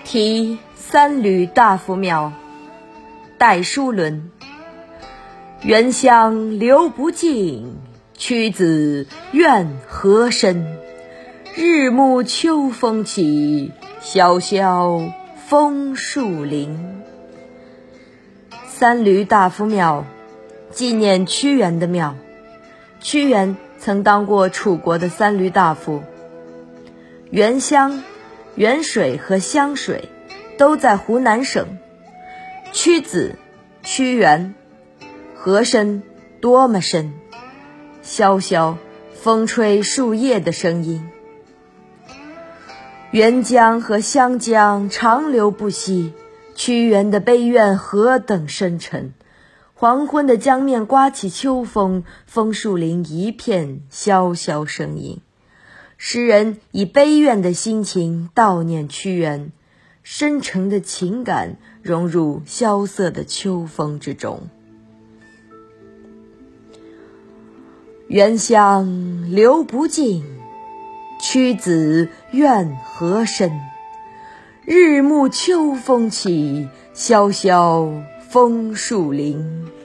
题三闾大夫庙，戴叔伦。原乡流不尽，屈子怨何深？日暮秋风起，萧萧枫树林。三闾大夫庙，纪念屈原的庙。屈原曾当过楚国的三闾大夫。原乡、原水和湘水都在湖南省。屈子、屈原，何深多么深？萧萧风吹树叶的声音。沅江和湘江长流不息，屈原的悲怨何等深沉。黄昏的江面刮起秋风，枫树林一片萧萧声音。诗人以悲怨的心情悼念屈原，深沉的情感融入萧瑟的秋风之中。原乡流不尽，屈子怨何深？日暮秋风起，萧萧枫树林。